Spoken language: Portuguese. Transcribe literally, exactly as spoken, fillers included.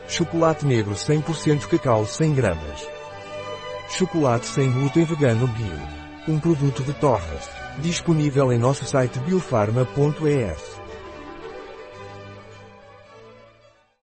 Chocolate negro cem por cento cacau cem gramas. Chocolate sem glúten vegano bio. Um produto de Torres. Disponível em nosso site biofarma ponto es.